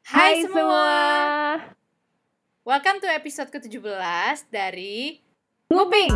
Hai Hai semua, welcome to episode ke-17 dari Nguping.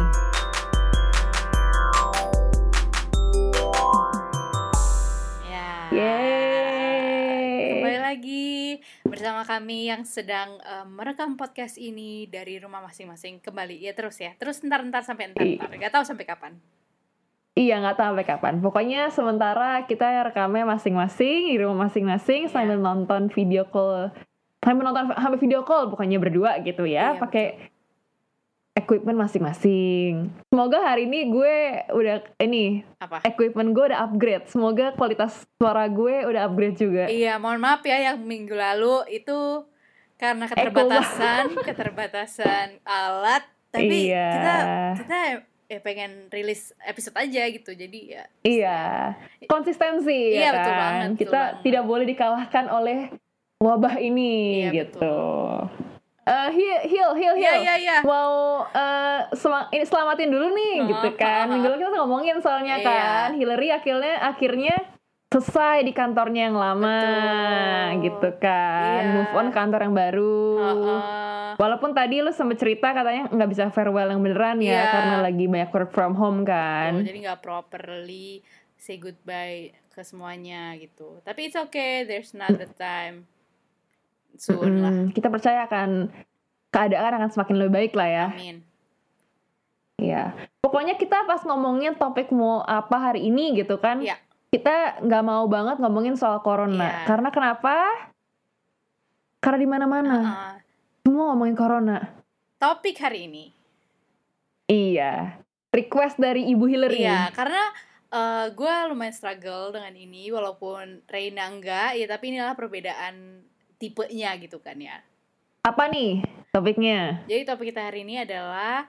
Ya, Yeay. kembali lagi bersama kami yang sedang merekam podcast ini dari rumah masing-masing. Kembali, ya terus ntar sampai ntar, gak tahu sampai kapan. Iya, nggak tahu sampai kapan. Pokoknya sementara kita rekamnya masing-masing di rumah masing-masing sambil nonton video call, sampai video call pokoknya berdua gitu ya, pakai equipment masing-masing. Semoga hari ini gue udah equipment gue udah upgrade. Semoga kualitas suara gue udah upgrade juga. Iya, mohon maaf ya yang minggu lalu itu karena keterbatasan alat, tapi kita pengen rilis episode aja gitu, jadi ya konsistensi iya, ya kan, betul banget, kita tidak boleh dikalahkan oleh wabah ini, iya, gitu. Hil Iya. mau ini selamatin dulu nih gitu kan. Minggu lalu kita ngomongin soalnya kan Hillary akhirnya selesai di kantornya yang lama. Betul. Gitu kan, move on kantor yang baru. Walaupun tadi lu sempet cerita katanya nggak bisa farewell yang beneran ya, karena lagi banyak work from home kan. Betul, jadi nggak properly say goodbye ke semuanya gitu. Tapi it's okay, there's another time soon lah. Kita percaya kan keadaan akan semakin lebih baik lah ya. Amin. Iya, pokoknya kita pas ngomongin topik mau apa hari ini gitu kan, kita nggak mau banget ngomongin soal corona. Karena kenapa? Karena di mana-mana semua ngomongin corona. Topik hari ini. Iya, request dari Ibu Hillary. Iya, karena gue lumayan struggle dengan ini, walaupun Reina enggak, ya tapi inilah perbedaan tipenya gitu kan ya. Apa nih topiknya? Jadi topik kita hari ini adalah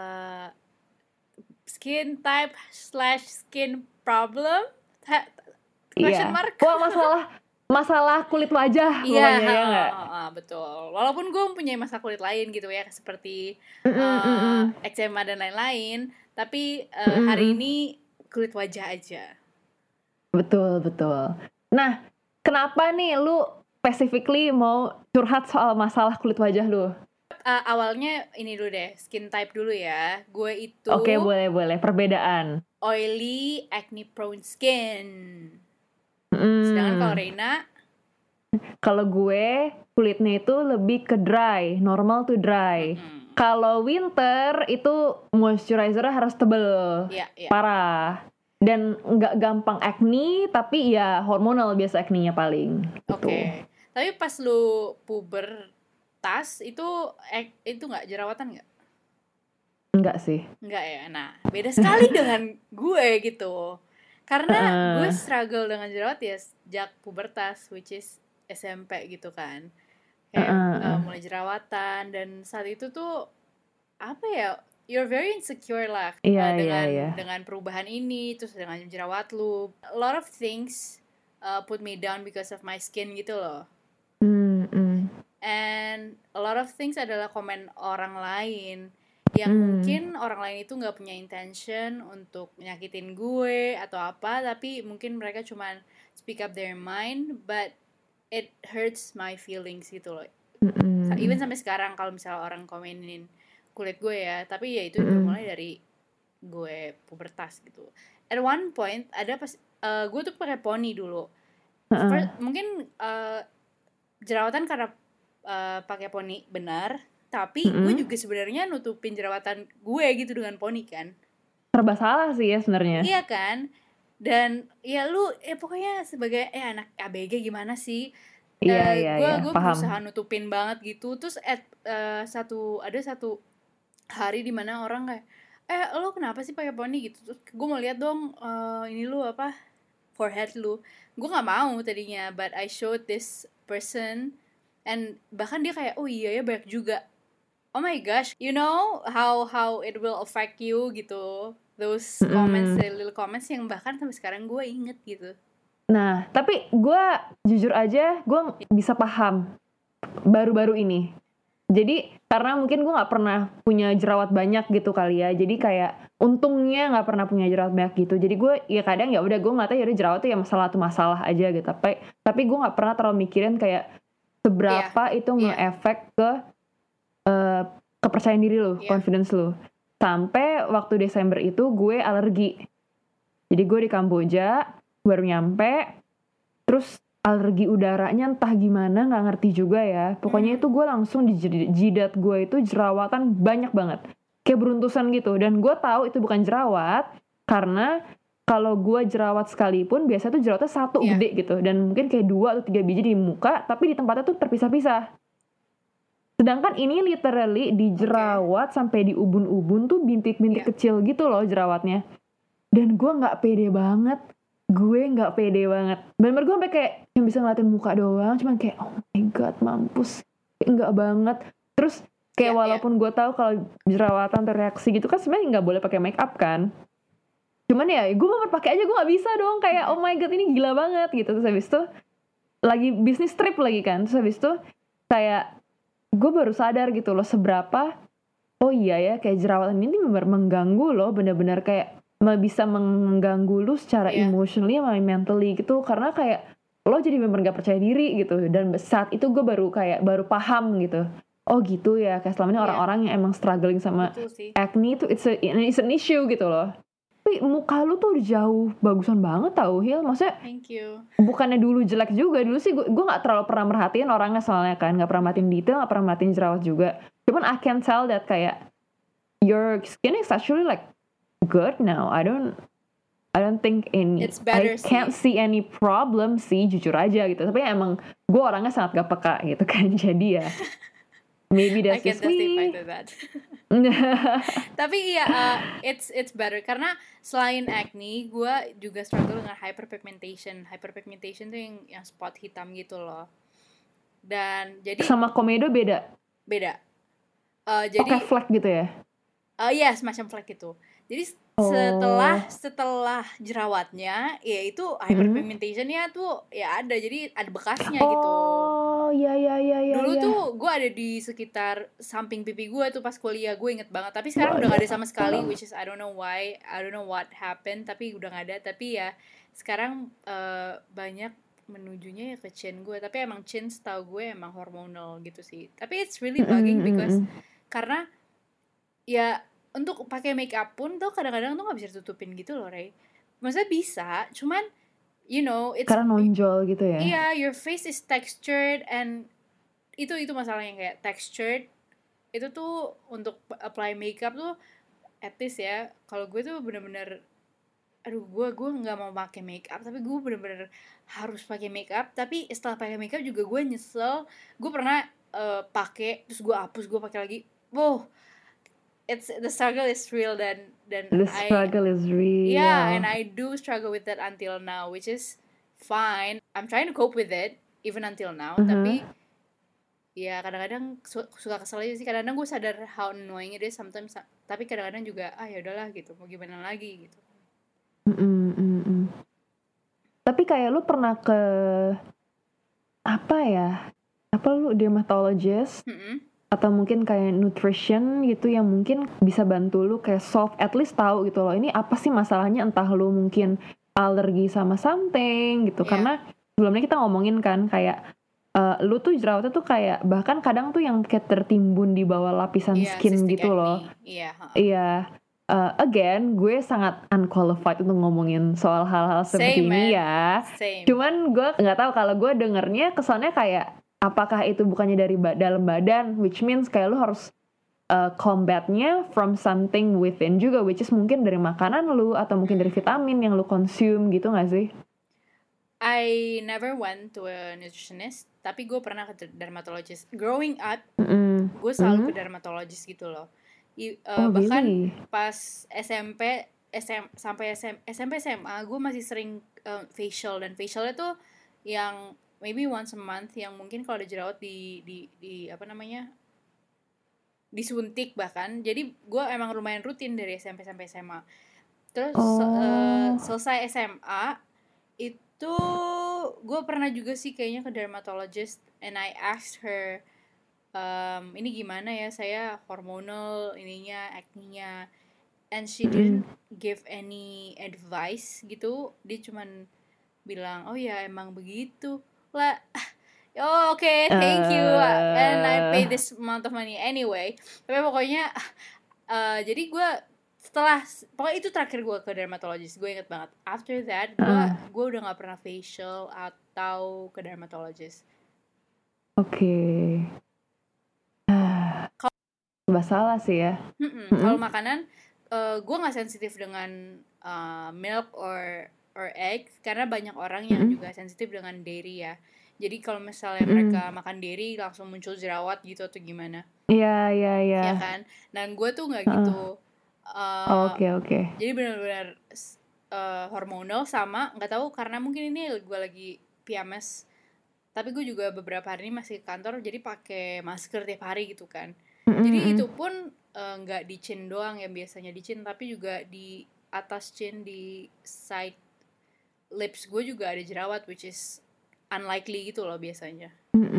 skin type / skin problem? Question mark? Wah, masalah kulit wajah. Iya, betul. Walaupun gue mempunyai masalah kulit lain gitu ya, seperti eczema dan lain-lain, tapi hari ini kulit wajah aja. Betul. Nah, kenapa nih lu specifically mau curhat soal masalah kulit wajah lu? Awalnya ini dulu deh, skin type dulu ya. Gue itu Oke, boleh. Perbedaan. Oily, acne prone skin. Sedangkan kalau Reina, kalau gue kulitnya itu lebih ke dry, normal to dry. Kalau winter itu moisturizer harus tebel, parah. Dan nggak gampang acne, tapi ya hormonal biasa acne-nya paling. Oke. Tapi pas lu pubertas itu nggak jerawatan nggak? Enggak sih. Enggak ya. Nah, beda sekali dengan gue gitu. Karena gue struggle dengan jerawat ya sejak pubertas, which is SMP gitu kan. Kayak mulai jerawatan, dan saat itu tuh apa ya? You're very insecure lah dengan perubahan ini, terus dengan jerawat lu. A lot of things put me down because of my skin gitu loh. And a lot of things adalah komen orang lain yang mungkin orang lain itu nggak punya intention untuk nyakitin gue atau apa, tapi mungkin mereka cuman speak up their mind, but it hurts my feelings gitu loh. Even sampai sekarang kalau misalnya orang komenin kulit gue ya, tapi ya itu mulai dari gue pubertas gitu. At one point ada pas gue tuh pakai poni dulu. Mungkin jerawatan karena pakai poni benar, tapi gue juga sebenarnya nutupin jerawatan gue gitu dengan poni kan. Serba salah sih ya sebenarnya. Iya kan? Dan ya lu pokoknya sebagai anak ABG gimana sih? Gue berusaha nutupin banget gitu. Terus ada satu hari di mana orang kayak lo kenapa sih pakai poni gitu. Terus gue mau lihat dong ini lu apa, forehead lu. Gue nggak mau tadinya, but I showed this person, and bahkan dia kayak oh iya ya banyak juga. Oh my gosh, you know how it will affect you gitu. Those comments, little comments yang bahkan sampai sekarang gue inget gitu. Nah, tapi gue jujur aja gue bisa paham baru-baru ini. Jadi karena mungkin gue nggak pernah punya jerawat banyak gitu kali ya. Jadi kayak untungnya nggak pernah punya jerawat banyak gitu. Jadi gue ya kadang ya udah gue ngeliatnya ya udah jerawat tuh ya masalah aja gitu. Tapi gue nggak pernah terlalu mikirin kayak seberapa itu nge-efek ke kepercayaan diri lo, confidence lo. Sampai waktu Desember itu gue alergi. Jadi gue di Kamboja baru nyampe, terus alergi udaranya entah gimana, nggak ngerti juga ya. Pokoknya itu gue langsung di jidat gue itu jerawatan banyak banget, kayak beruntusan gitu. Dan gue tahu itu bukan jerawat, karena kalau gue jerawat sekalipun biasanya tuh jerawatnya satu gede gitu, dan mungkin kayak 2 atau 3 biji di muka, tapi di tempatnya tuh terpisah-pisah. Sedangkan ini literally di jerawat sampai di ubun-ubun tuh bintik-bintik kecil gitu loh jerawatnya. Dan gue nggak pede banget. Bener-bener gue sampai kayak yang bisa ngeliatin muka doang, cuman kayak oh my god mampus, kayak enggak banget. Terus kayak walaupun gue tahu kalau jerawatan tereaksi gitu kan sebenarnya nggak boleh pakai make up kan, cuman ya gue mau pakai aja gue nggak bisa dong, kayak oh my god ini gila banget gitu. Terus habis itu lagi bisnis trip lagi kan, terus habis itu kayak gue baru sadar gitu loh seberapa oh iya ya kayak jerawatan ini benar mengganggu loh, benar-benar kayak bisa mengganggu lu secara emotionally sama mentally gitu, karena kayak lo jadi bener gak percaya diri gitu. Dan saat itu gue baru paham gitu, oh gitu ya, kayak selama ini orang-orang yang emang struggling sama acne itu it's an issue gitu loh. Tapi muka lu tuh jauh bagusan banget tau Hil, maksudnya thank you. Bukannya dulu jelek juga, dulu sih gue gak terlalu pernah merhatiin orangnya soalnya kan, gak pernah merhatiin detail, gak pernah merhatiin jerawat juga. Cuman I can tell that kayak your skin is actually like good now. I don't think I can't see any problem sih, jujur aja gitu. Tapi emang gue orangnya sangat gak peka gitu kan. Jadi ya maybe that's just me. I can testify to that. Tapi iya it's better karena selain acne gue juga struggle dengan hyperpigmentation. Hyperpigmentation tuh yang spot hitam gitu loh. Dan jadi sama komedo beda. Jadi flek gitu ya. Iya semacam flek gitu. Jadi setelah jerawatnya ya itu hyperpigmentationnya tuh ya ada, jadi ada bekasnya gitu. Oh iya. Dulu tuh gue ada di sekitar samping pipi gue tuh pas kuliah, gue inget banget. Tapi sekarang udah gak ada sama sekali, which is I don't know why, I don't know what happened, tapi udah gak ada. Tapi ya sekarang banyak menujunya ya ke chin gue. Tapi emang chin setahu gue emang hormonal gitu sih. Tapi it's really bugging because karena ya untuk pakai make up pun tuh kadang-kadang tuh nggak bisa ditutupin gitu loh, Ray. Maksudnya bisa, cuman you know it's karena nonjol gitu ya. Iya, your face is textured and itu masalahnya, kayak textured itu tuh untuk apply makeup tuh at least ya. Kalau gue tuh bener-bener gue nggak mau pakai makeup, tapi gue bener-bener harus pakai makeup. Tapi setelah pakai makeup juga gue nyesel. Gue pernah pakai terus gue hapus, gue pakai lagi. The struggle is real dan the struggle is real. Yeah, and I do struggle with that until now, which is fine. I'm trying to cope with it even until now. Tapi ya kadang-kadang suka kesel aja sih. Kadang-kadang gue sadar how annoying it is sometimes. Tapi kadang-kadang juga ya udahlah gitu. Mau gimana lagi gitu. Tapi kayak lu pernah ke apa lu dermatologist? Atau mungkin kayak nutrition gitu yang mungkin bisa bantu lu kayak solve, at least tahu gitu loh ini apa sih masalahnya, entah lu mungkin alergi sama something gitu. Karena sebelumnya kita ngomongin kan kayak lu tuh jerawatnya tuh kayak bahkan kadang tuh yang kayak tertimbun di bawah lapisan skin gitu loh. Again gue sangat unqualified untuk ngomongin soal hal-hal seperti ini ya. Cuman gue nggak tahu, kalau gue dengernya kesannya kayak apakah itu bukannya dari dalam badan, which means kayak lu harus combatnya from something within juga, which is mungkin dari makanan lu atau mungkin dari vitamin yang lu consume gitu gak sih? I never went to a nutritionist, tapi gue pernah ke dermatologist. Growing up, gue selalu ke dermatologist gitu loh. Bahkan really? Pas SMP SMA gue masih sering facial, dan facialnya tuh yang maybe once a month, yang mungkin kalau ada jerawat di apa namanya disuntik bahkan. Jadi gue emang lumayan rutin dari SMP sampai SMA. Terus selesai SMA itu gue pernah juga sih kayaknya ke dermatologist, and I asked her ini gimana ya, saya hormonal ininya, acne-nya, and she didn't give any advice gitu. Dia cuman bilang oh ya emang begitu lah. Oh, okay, thank you. And I pay this amount of money anyway. Tapi pokoknya jadi gue pokoknya itu terakhir gue ke dermatologist, gue inget banget. After that gue udah nggak pernah facial atau ke dermatologist. Oke. Masalah sih ya. Kalau makanan gue nggak sensitif dengan milk or egg, karena banyak orang yang juga sensitif dengan dairy ya. Jadi kalau misalnya mereka makan dairy langsung muncul jerawat gitu atau gimana? Iya. Ya kan. Dan gue tuh nggak gitu. Oke. Jadi benar-benar hormonal, sama nggak tahu karena mungkin ini gue lagi PMS. Tapi gue juga beberapa hari ini masih ke kantor, jadi pakai masker tiap hari gitu kan. Jadi itu pun nggak di chin doang yang biasanya di chin, tapi juga di atas chin, di side lips gue juga ada jerawat, which is unlikely gitu loh biasanya.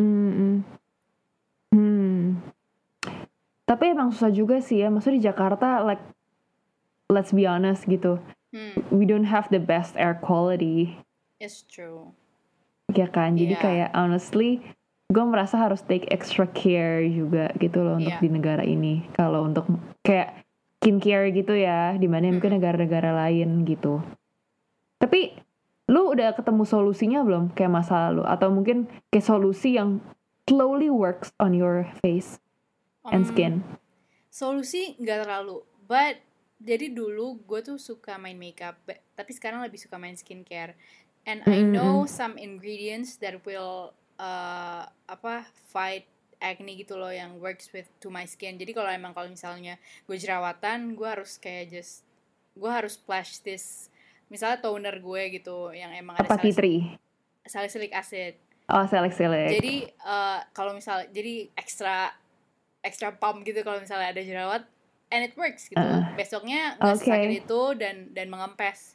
Tapi emang susah juga sih ya, maksudnya di Jakarta, like let's be honest gitu, we don't have the best air quality. It's true. Ya kan, jadi kayak honestly gue merasa harus take extra care juga gitu loh untuk di negara ini. Kalau untuk kayak skincare gitu ya, dibanding mungkin negara-negara lain gitu. Tapi lu udah ketemu solusinya belum kayak masa lalu, atau mungkin kayak solusi yang slowly works on your face and skin? Solusi nggak terlalu, but jadi dulu gue tuh suka main makeup, tapi sekarang lebih suka main skincare. And I know some ingredients that will fight acne gitu loh, yang works to my skin. Jadi kalau misalnya gue jerawatan, gue harus splash this, misalnya toner gue gitu yang emang ada salicylic acid. Oh, salicylic. Jadi kalau misalnya jadi extra pump gitu kalau misalnya ada jerawat, and it works gitu. Besoknya nggak sakit itu dan mengempes.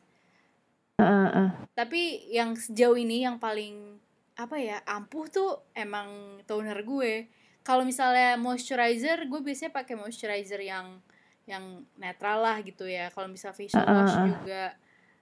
Tapi yang sejauh ini yang paling ampuh tuh emang toner gue. Kalau misalnya moisturizer, gue biasanya pakai moisturizer yang netral lah gitu ya. Kalau misalnya facial wash juga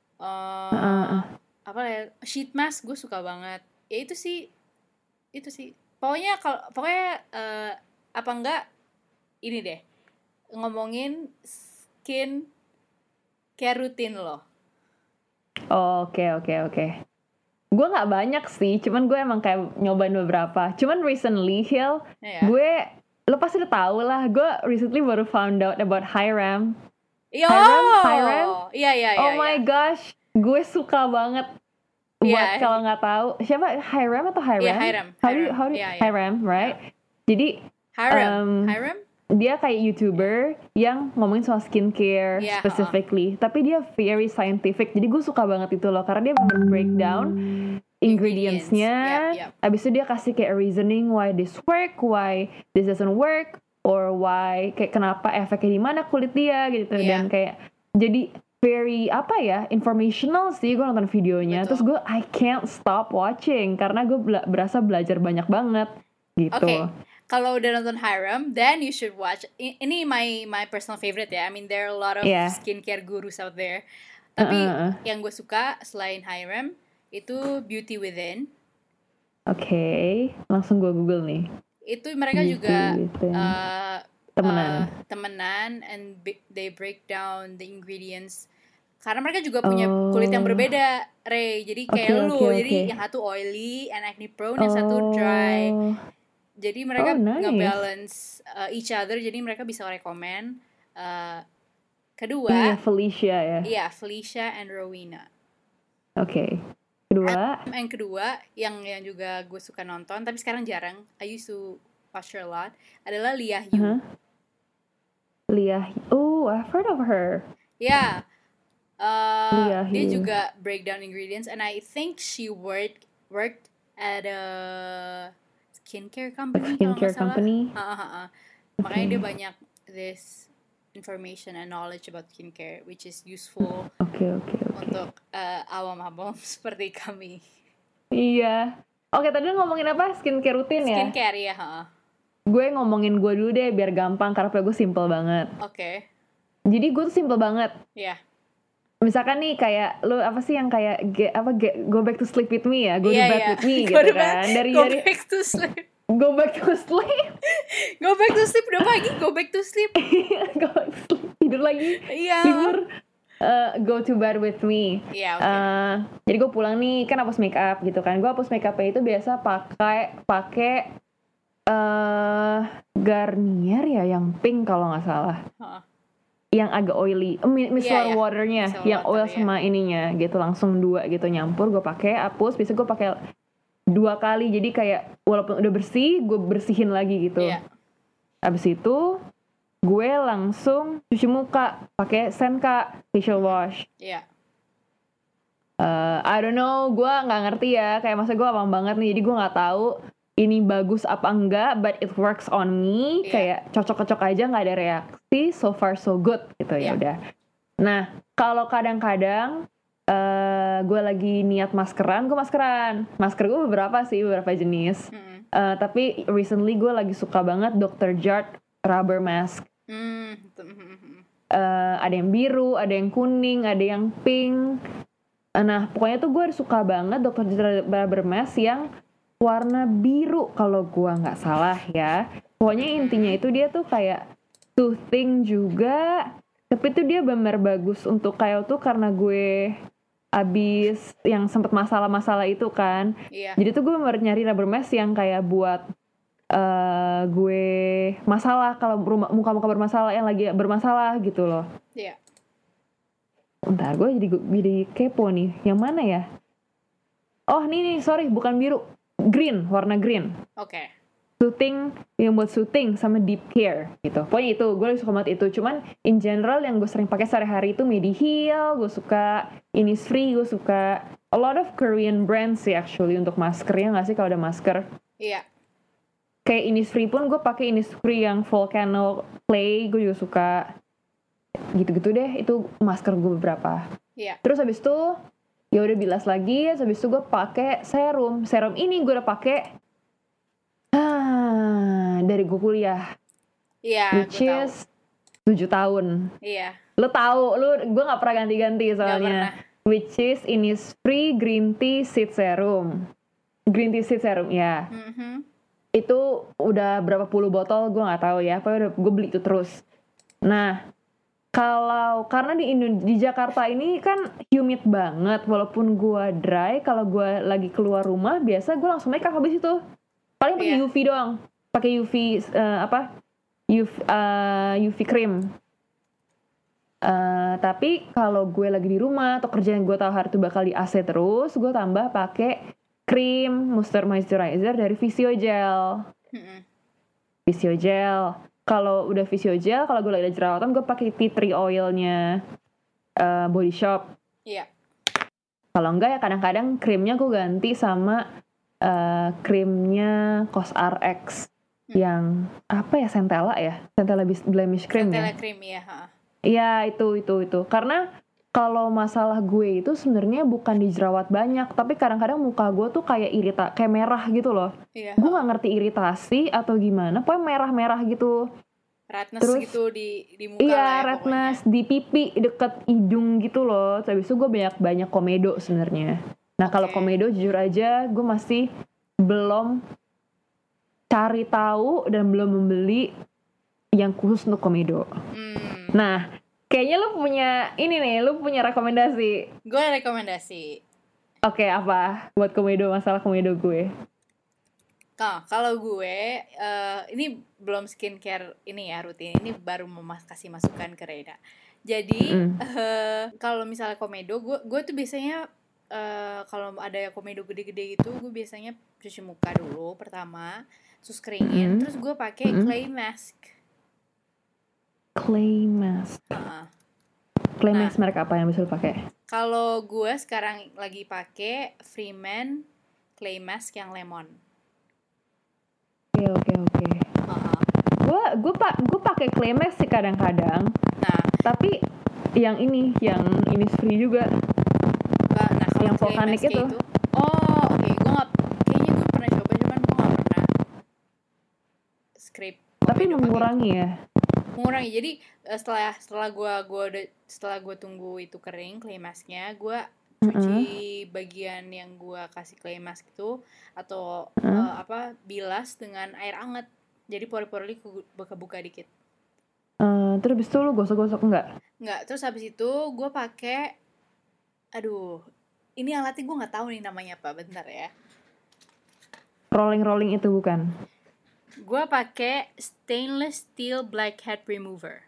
sheet mask gue suka banget. Ya itu sih. Pokoknya apa enggak ini deh, ngomongin skin care rutin lo. Oke. Gue nggak banyak sih, cuman gue emang kayak nyobain beberapa. Cuman recently, Hil, lo pasti udah tahu lah, gue recently baru found out about Hyram. Hyram? Iya. Oh my gosh, gue suka banget. Buat kalau nggak tahu, siapa Hyram atau Hyram? Iya, Hyram. Hyram, right? Jadi Hyram? Dia kayak YouTuber yang ngomongin soal skincare specifically, tapi dia very scientific. Jadi gue suka banget itu loh, karena dia breakdown ingredients-nya. Abis itu dia kasih kayak reasoning why this work, why this doesn't work, or why kayak kenapa efeknya di mana kulit dia gitu. Dan kayak jadi very informational sih. Gue nonton videonya. Betul. Terus gue I can't stop watching karena gue berasa belajar banyak banget gitu. Okay. Kalau udah nonton Hyram, then you should watch. Ini my personal favorite ya. I mean there are a lot of skincare gurus out there. Tapi yang gue suka selain Hyram itu Beauty Within. Oke, langsung gue Google nih. Itu mereka Beauty juga temenan and they break down the ingredients. Karena mereka juga punya kulit yang berbeda, Ray. Jadi kayak jadi yang satu oily and acne prone, yang satu dry. Jadi mereka nge-balance each other, jadi mereka bisa rekomend. Kedua, Felicia ya. Iya, Felicia and Rowena. Oke. Kedua. Yang kedua yang juga gue suka nonton, tapi sekarang jarang. I used to watch her a lot. Adalah Lia Yu. I've heard of her. Yeah. Dia juga breakdown ingredients, and I think she worked at a skincare company. Makanya dia banyak this information and knowledge about skincare, which is useful untuk awam-awam seperti kami. Iya. Oke, tadi ngomongin apa? Skincare rutin ya? Skincare ya. Gue ngomongin gue dulu deh biar gampang, karena gue simple banget. Oke. Jadi gue tuh simple banget. Iya. misalkan nih kayak lu apa sih yang kayak go back to sleep with me ya, go to Iya, bed iya. with me Go gitu to bed, kan. Dari go back to sleep. go back to sleep. Go back to sleep udah pagi, go back to sleep. Go back to sleep. Tidur lagi. Iya. Libur. Go to bed with me. Iya, oke. Jadi gue pulang nih kan hapus make up gitu kan. Gue hapus make upnya itu biasa pakai Garnier ya yang pink kalau nggak salah. Yang agak oily, micellar waternya, Micellar yang water, oil sama ininya gitu, langsung 2 gitu nyampur, gue pakai hapus, bisa gue pakai 2 kali, jadi kayak walaupun udah bersih, gue bersihin lagi gitu. Abis itu gue langsung cuci muka pakai Senka facial wash. I don't know, gue nggak ngerti ya, kayak masa gue awam banget nih, jadi gue nggak tahu ini bagus apa enggak, but it works on me. Kayak cocok-cocok aja, nggak ada reaksi, so far so good gitu. Ya udah. Nah, kalau kadang-kadang gue lagi niat maskeran, masker gue beberapa jenis. Tapi recently gue lagi suka banget Dr. Jart rubber mask. Ada yang biru, ada yang kuning, ada yang pink. Nah, pokoknya tuh gue suka banget Dr. Jart rubber mask yang warna biru kalau gua nggak salah ya. Pokoknya intinya itu dia tuh kayak soothing juga, tapi tuh dia benar bagus untuk kayak tuh karena gue abis yang sempet masalah itu kan. Jadi tuh gue nyari rubber mask yang kayak buat gue masalah, kalau muka-muka bermasalah, yang lagi bermasalah gitu loh. Bentar, gue jadi kepo nih. Yang mana ya? Oh nih, sorry, bukan biru. Green, warna green. Oke. Soothing, yang buat soothing sama deep care gitu. Pokoknya itu, gue suka banget itu. Cuman in general yang gue sering pakai sehari-hari itu Mediheal, gue suka Innisfree, gue suka a lot of Korean brands sih actually untuk maskernya, nggak sih kalau ada masker? Iya. Kayak Innisfree pun gue pakai Innisfree yang Volcano Clay, gue juga suka. Gitu-gitu deh, itu masker gue beberapa. Iya. Terus habis itu ya udah bilas lagi, habis itu gue pakai serum ini gue udah pakai dari gue kuliah, which is 7 tahun. Lo tahu, gue nggak pernah ganti-ganti soalnya, which is Innisfree green tea seed serum ya. Itu udah berapa puluh botol gue nggak tahu ya, pokoknya gue beli itu terus. Nah, karena di Jakarta ini kan humid banget, walaupun gue dry, kalau gue lagi keluar rumah biasa gue langsung make up habis itu. Paling pakai UV doang, pakai UV cream. Tapi kalau gue lagi di rumah atau kerjaan gue tahu hari itu bakal di AC terus, gue tambah pakai krim moisturizer dari Physiogel. Kalau udah Physiogel, kalau gue lagi ada jerawatan, gue pakai tea tree oilnya Body Shop. Kalau enggak ya kadang-kadang krimnya gue ganti sama krimnya COSRX yang apa ya, Centella blemish cream. Centella cream ya. Iya itu. Karena kalau masalah gue itu sebenarnya bukan di jerawat banyak, tapi kadang-kadang muka gue tuh kayak kayak merah gitu loh. Gue nggak ngerti iritasi atau gimana, pokoknya merah-merah gitu. Redness terus, gitu di muka. Iya, redness di pipi deket hidung gitu loh. Habis itu gue banyak komedo sebenarnya. Nah kalau komedo jujur aja gue masih belum cari tahu dan belum membeli yang khusus untuk komedo. Nah, kayaknya lu punya rekomendasi. Gue rekomendasi. Oke, apa buat masalah komedo gue? Kalau gue ini belum skincare ini ya rutin, ini baru mau kasih masukan ke Reda. Jadi kalau misalnya komedo, gue tuh biasanya kalau ada komedo gede-gede gitu, gue biasanya cuci muka dulu pertama, terus keringin, terus gue pakai clay mask. Clay mask merek apa yang bisa lo pakai? Kalau gue sekarang lagi pakai Freeman clay mask yang lemon. Oke. Gue pakai clay mask sih kadang-kadang. Nah, tapi yang Innisfree juga. Nah, yang vulkanik itu. Kayaknya gue pernah coba, cuman gue nggak pernah scrape. Tapi mengurangi ya. mengurangi. Jadi setelah gue tunggu itu kering clay masknya, gue cuci bagian yang gue kasih clay mask itu atau bilas dengan air hangat. Jadi pori-pori buka-buka dikit. Terus habis itu lu gosok-gosok enggak? Enggak. Terus habis itu gue pakai, ini alatnya gue nggak tahu nih namanya apa. Bentar ya. Rolling itu bukan? Gue pakai stainless steel blackhead remover.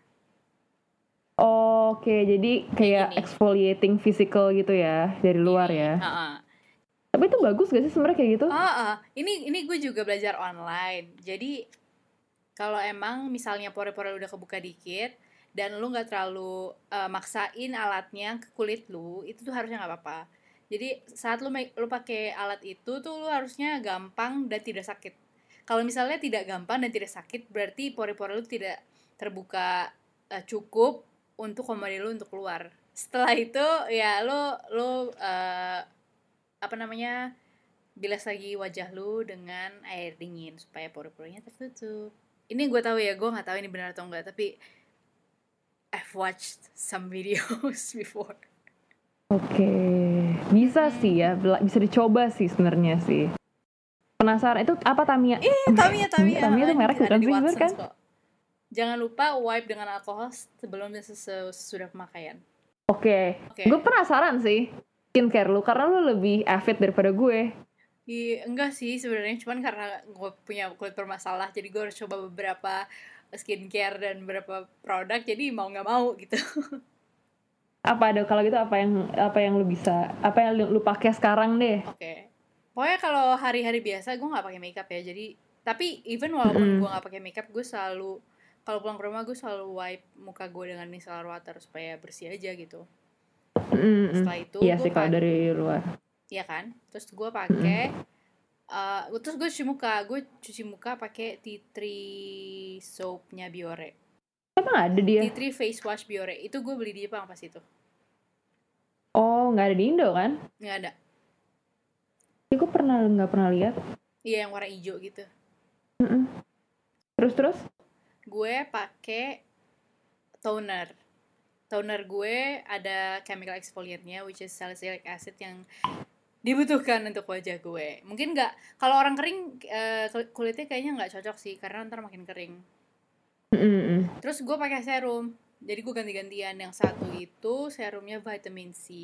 Oke, jadi kayak exfoliating physical gitu ya dari luar ya. Tapi itu bagus gak sih sebenarnya kayak gitu? Ini gue juga belajar online. Jadi kalau emang misalnya pori-pori udah kebuka dikit dan lu nggak terlalu maksain alatnya ke kulit lu, itu tuh harusnya nggak apa-apa. Jadi saat lu pakai alat itu tuh lu harusnya gampang dan tidak sakit. Kalau misalnya tidak gampang dan tidak sakit, berarti pori-pori lu tidak terbuka cukup untuk komodi lu untuk keluar. Setelah itu ya lu bilas lagi wajah lu dengan air dingin supaya pori-porinya tertutup. Ini gue tahu ya, gue nggak tahu ini benar atau enggak, tapi I've watched some videos before. Oke, bisa sih ya, bisa dicoba sih sebenarnya sih. Penasaran itu apa Tamiya? Tamiya itu merek bukan sih bener kan? Jangan lupa wipe dengan alkohol sebelum dan sesudah pemakaian. Oke. Gue penasaran sih skincare lu karena lu lebih avid daripada gue. Enggak sih sebenarnya, cuman karena gue punya kulit bermasalah, jadi gue harus coba beberapa skincare dan beberapa produk, jadi mau nggak mau gitu. Kalau gitu apa yang lu bisa, apa yang lu pakai sekarang deh? Oke. Pokoknya kalau hari-hari biasa gue nggak pakai makeup ya, jadi tapi even walaupun gue nggak pakai makeup, gue selalu kalau pulang ke rumah gue selalu wipe muka gue dengan micellar water supaya bersih aja gitu. Setelah itu iya sih kalau dari luar. Iya kan, terus gue pakai terus gue cuci muka pakai tea tree soapnya Biore. Emang ada dia? Tea tree face wash Biore, itu gue beli di Jepang pas itu. Oh, nggak ada di Indo kan? Nggak ada. Gue nggak pernah lihat. Iya, yang warna hijau gitu. Terus? Gue pakai toner gue ada chemical exfoliantnya, which is salicylic acid yang dibutuhkan untuk wajah gue. Mungkin nggak, kalau orang kering kulitnya kayaknya nggak cocok sih karena ntar makin kering. Terus gue pakai serum, jadi gue ganti-gantian. Yang satu itu serumnya vitamin C,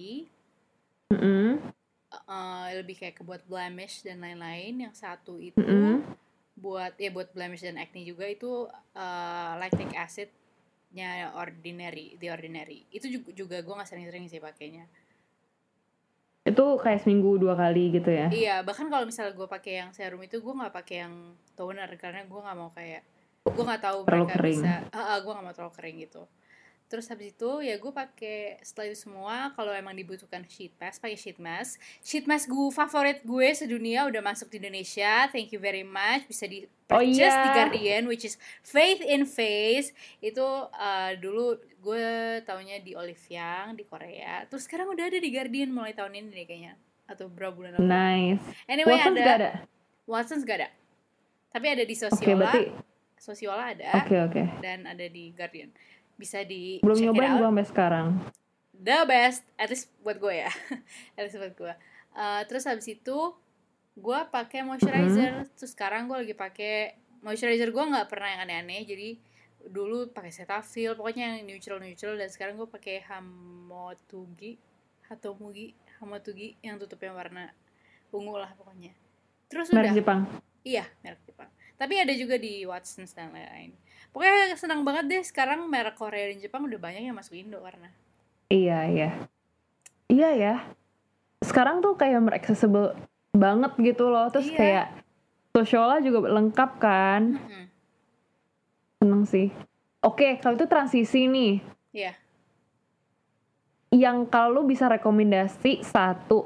lebih kayak buat blemish dan lain-lain. Yang satu itu buat blemish dan acne juga, itu lactic acid-nya The Ordinary. Itu juga gue nggak sering-sering sih pakainya. Itu kayak seminggu 2 kali gitu ya? Iya, bahkan kalau misalnya gue pakai yang serum itu, gue nggak pakai yang toner karena gue nggak mau kayak, gue nggak tahu mereka kering. Gue nggak mau terlalu kering gitu. Terus habis itu ya gue pakai, setelah itu semua kalau emang dibutuhkan sheet mask, pakai sheet mask gue favorit gue sedunia, udah masuk di Indonesia, thank you very much, bisa di purchase di Guardian, which is Faith in Face. Itu dulu gue taunya di Olive Young di Korea, terus sekarang udah ada di Guardian mulai tahun ini deh kayaknya, atau berapa bulan lalu. Nice. Anyway, Watsons gak ada, tapi ada di Sociola. Sociola ada. Oke. Dan ada di Guardian. Bisa di belum nyobain gue sampai sekarang. The best, at least buat gue ya. At least buat gue. Terus habis itu gue pakai moisturizer. Terus sekarang gue lagi pakai moisturizer, gue nggak pernah yang aneh-aneh. Jadi dulu pakai Cetaphil, pokoknya yang neutral. Dan sekarang gue pakai Hamotugi yang tutupnya warna ungu lah pokoknya. Terus merek Jepang. Iya, merek Jepang. Tapi ada juga di Watsons dan lain-lain. Pokoknya senang banget deh sekarang merek Korea dan Jepang udah banyak yang masuk Indo karena. Iya ya. Sekarang tuh kayak merek accessible banget gitu loh. Terus kayak Sociola juga lengkap kan. Seneng sih. Oke, kalau itu transisi nih. Iya. Yang kalau bisa rekomendasi satu.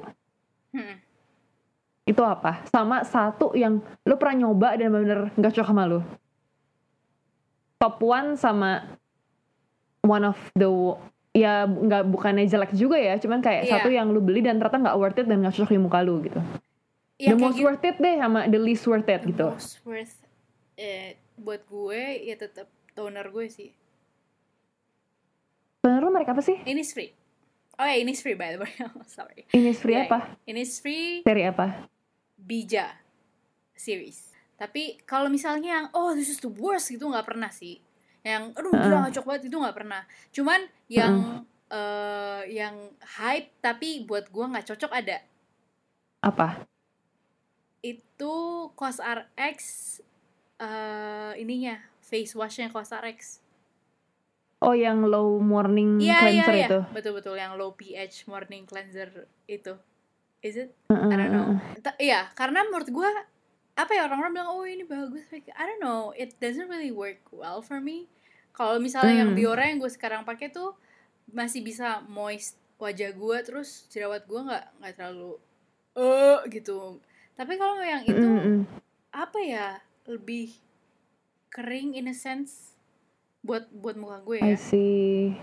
Itu apa? Sama satu yang lu pernah nyoba dan bener gak cocok sama lu. Top one sama one of the, ya bukannya jelek juga ya, cuman kayak satu yang lu beli dan ternyata gak worth it dan gak cocok di muka lu gitu. The most worth it deh sama the least worth it gitu. The most worth it buat gue ya tetap toner gue sih. Toner lu merek apa sih? Innisfree. Oh ya, Innisfree by the way. Sorry. Innisfree Yeah, apa? Innisfree Seri apa? Bija series. Tapi kalau misalnya yang this is the worst gitu nggak pernah sih. Yang aduh gila ngacok banget itu nggak pernah. Cuman yang hype tapi buat gua nggak cocok ada. Apa? Itu COSRX ininya face washnya COSRX. Oh, yang low morning cleanser itu. Betul yang low pH morning cleanser itu. Is it? I don't know. Iya, karena menurut gue apa ya, orang-orang bilang ini bagus. I don't know, it doesn't really work well for me. Kalau misalnya yang Biore yang gue sekarang pakai tuh masih bisa moist wajah gue, terus jerawat gue nggak terlalu gitu. Tapi kalau yang itu apa ya, lebih kering in a sense buat muka gue ya. I see.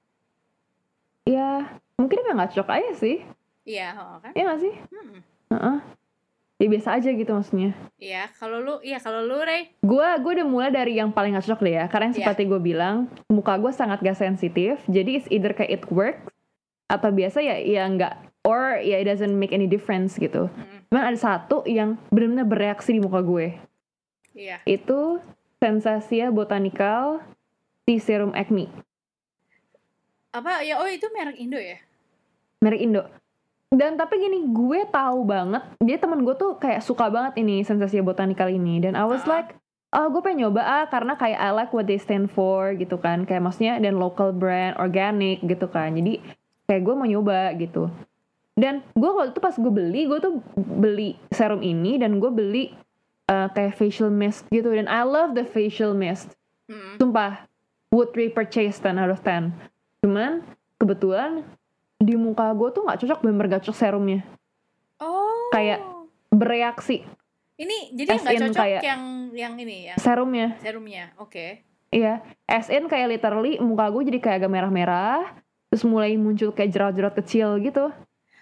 Ya, mungkin emang nggak cocok aja sih. Iya, kan? Iya nggak sih? Ya biasa aja gitu maksudnya. Iya, kalau lu Rey? Gue udah mulai dari yang paling nggak cocok deh ya. Karena yang seperti gue bilang, muka gue sangat gak sensitif. Jadi it's either kayak it works atau biasa ya nggak, or ya it doesn't make any difference gitu. Cuman ada satu yang benar-benar bereaksi di muka gue. Iya. Itu Sensasia Botanical Serum Acne. Apa ya? Itu merek Indo ya? Merek Indo. Dan tapi gini, gue tahu banget, dia temen gue tuh kayak suka banget ini Sensasia Botanical ini. Dan I was like, gue pengen nyoba karena kayak I like what they stand for gitu kan. Kayak maksudnya dan local brand, organic gitu kan. Jadi kayak gue mau nyoba gitu. Dan gue waktu itu pas gue tuh beli serum ini dan gue beli kayak facial mist gitu. Dan I love the facial mist. Sumpah, would repurchase 10 out of 10. Cuman kebetulan di muka gue tuh nggak cocok, bener gak cocok serumnya. Kayak bereaksi. Ini jadi nggak cocok yang ini yang serumnya. Oke. Iya, as in kayak literally muka gue jadi kayak agak merah-merah, terus mulai muncul kayak jerawat-jerawat kecil gitu.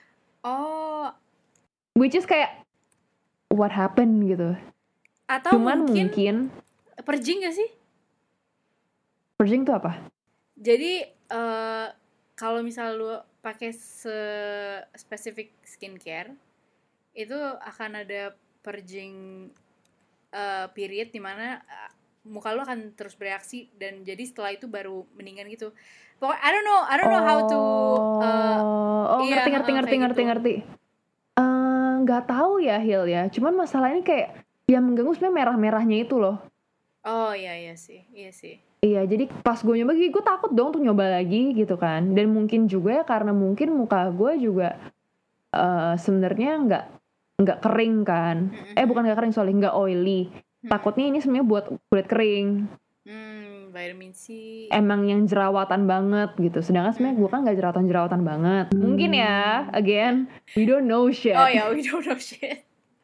Which is kayak what happened gitu. Atau cuman mungkin purging gak sih? Purging tuh apa? Jadi kalau misal lu pakai spesifik skincare, itu akan ada purging period dimana muka lu akan terus bereaksi dan jadi setelah itu baru mendingan gitu. Pokoknya I don't know how to ngerti. Nggak tahu ya Hil ya. Cuman masalahnya kayak yang mengganggu sebenarnya merah-merahnya itu loh. Iya sih. Iya, jadi pas gue nyoba, gue takut dong untuk nyoba lagi gitu kan. Dan mungkin juga karena mungkin muka gue juga sebenarnya nggak kering kan. Bukan nggak kering, sorry, nggak oily. Takutnya ini sebenarnya buat kulit kering. Vitamin C. Emang yang jerawatan banget gitu. Sedangkan sebenarnya gue kan nggak jerawatan banget. Mungkin ya, again, we don't know shit. We don't know shit.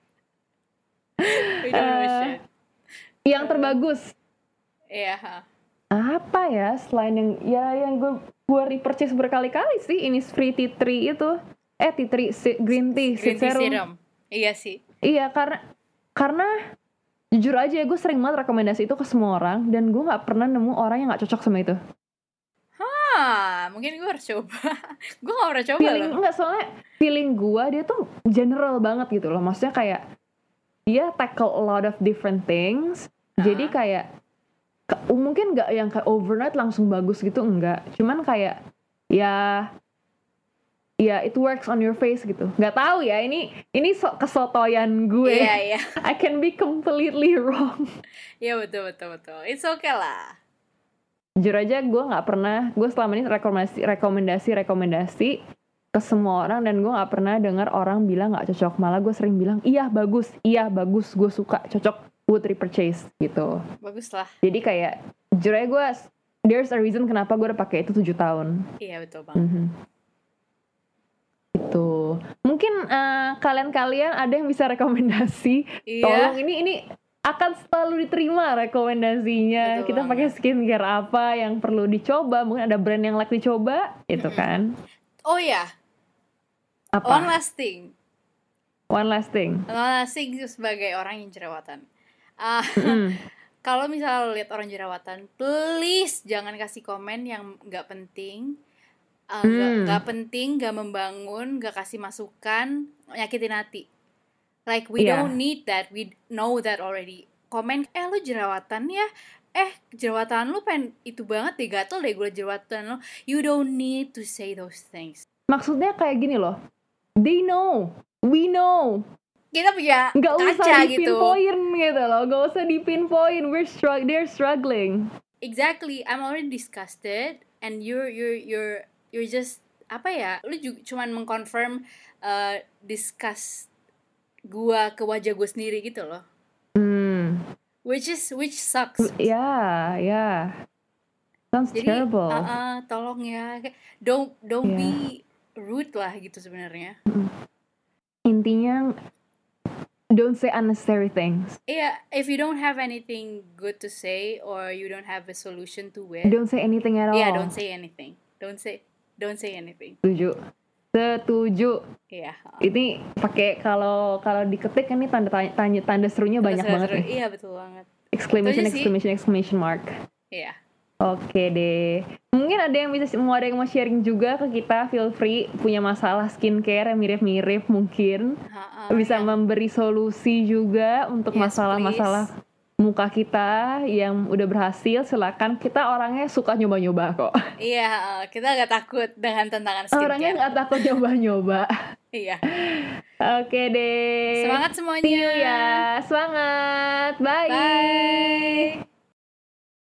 Yang terbagus. Iya. Apa ya selain yang gue repurchase berkali-kali sih, Innisfree Tea Tree itu. Tea Tree Green Tea Serum. Iya sih. Iya, karena jujur aja gue sering banget rekomendasi itu ke semua orang dan gue nggak pernah nemu orang yang nggak cocok sama itu. Mungkin gue harus coba. Gue nggak pernah coba. Soalnya feeling gue dia tuh general banget gitu loh. Maksudnya kayak dia tackle a lot of different things. Jadi kayak mungkin nggak yang kayak overnight langsung bagus gitu, enggak. Cuman kayak ya it works on your face gitu. Nggak tahu ya, ini kesotoyan gue. Iya. I can be completely wrong. Iya betul. It's okay lah. Jujur aja gue selama ini rekomendasi ke semua orang dan gue nggak pernah dengar orang bilang nggak cocok. Malah gue sering bilang iya bagus, gue suka, cocok, would repurchase gitu. Bagus lah. Jadi kayak jujur aja gue, there's a reason kenapa gue udah pakai itu 7 tahun. Iya betul banget. Itu mungkin kalian ada yang bisa rekomendasi. Iya. Tolong, ini akan selalu diterima rekomendasinya. Betul kita pakai skincare apa yang perlu dicoba, mungkin ada brand yang like dicoba itu kan. Oh ya, apa? One last thing sebagai orang yang jerawatan. kalau misalnya lo lihat orang jerawatan, please jangan kasih komen yang nggak penting, nggak penting, nggak membangun, nggak kasih masukan, nyakitin hati. Like we don't need that, we know that already. Komen, lo jerawatan ya, jerawatan lo pengen itu banget deh, gatel deh gue jerawatan lo. You don't need to say those things. Maksudnya kayak gini loh, they know, we know. Kita punya nggak kaca usah gitu. dipinpoint gitu loh, nggak usah dipinpoint. They're struggling. Exactly, I'm already disgusted, and you're just apa ya? Lu juga cuman mengconfirm disgust gua ke wajah gue sendiri gitu loh. Which sucks. Yeah. Sounds Jadi, terrible. Tolong ya, don't be rude lah gitu sebenarnya. Intinya, don't say unnecessary things. Yeah, if you don't have anything good to say or you don't have a solution to it, don't say anything at all. Yeah, don't say anything. Don't say anything. Setuju. Iya. Ini pakai kalau diketik ini tanda serunya banyak banget nih. Iya, betul banget. Exclamation mark. Iya. Oke deh. Mungkin ada yang mau sharing juga ke kita, feel free, punya masalah skincare yang mirip-mirip mungkin. Bisa memberi solusi juga untuk masalah-masalah muka kita yang udah berhasil. Silakan, kita orangnya suka nyoba-nyoba kok. Iya, kita gak takut dengan tantangan skincare. Orangnya gak takut nyoba-nyoba. Iya. Oke deh. Semangat semuanya. See you ya. Semangat. Bye.